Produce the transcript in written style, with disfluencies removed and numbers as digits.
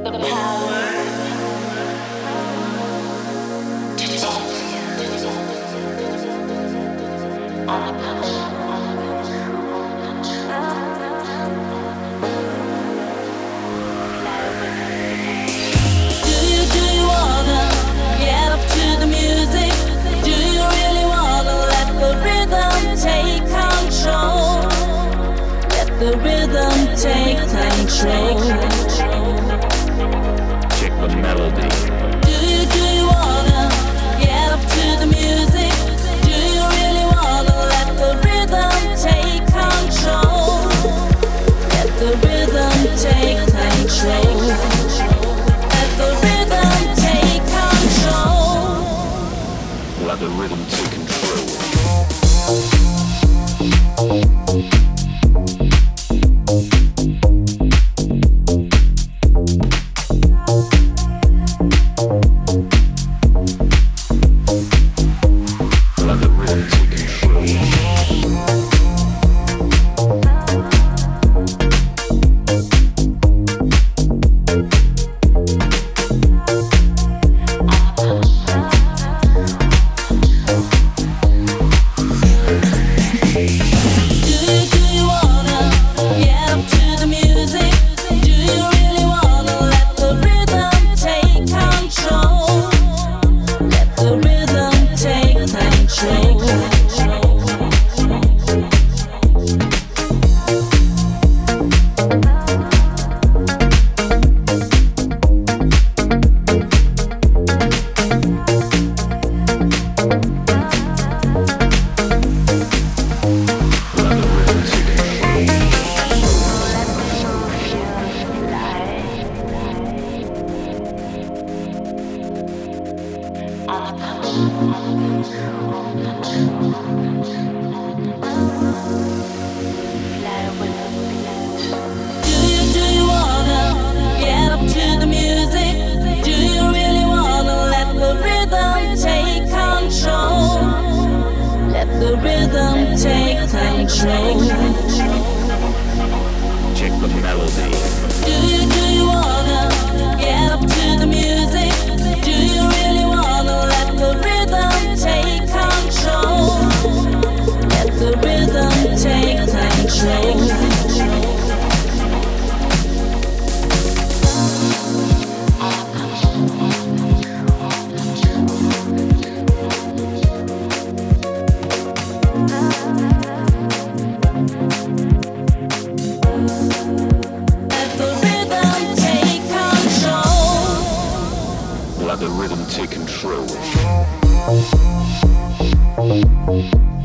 The rhythm take control. Check the melody. Do you wanna get up to the music? Do you really wanna let the rhythm take control? Let the rhythm take control. Let the rhythm take control. Let the rhythm take control. The rhythm take control. Check the melody. Do you wanna get up to the music? Do you really wanna let the rhythm take control? Let the rhythm take control. Let the rhythm take control.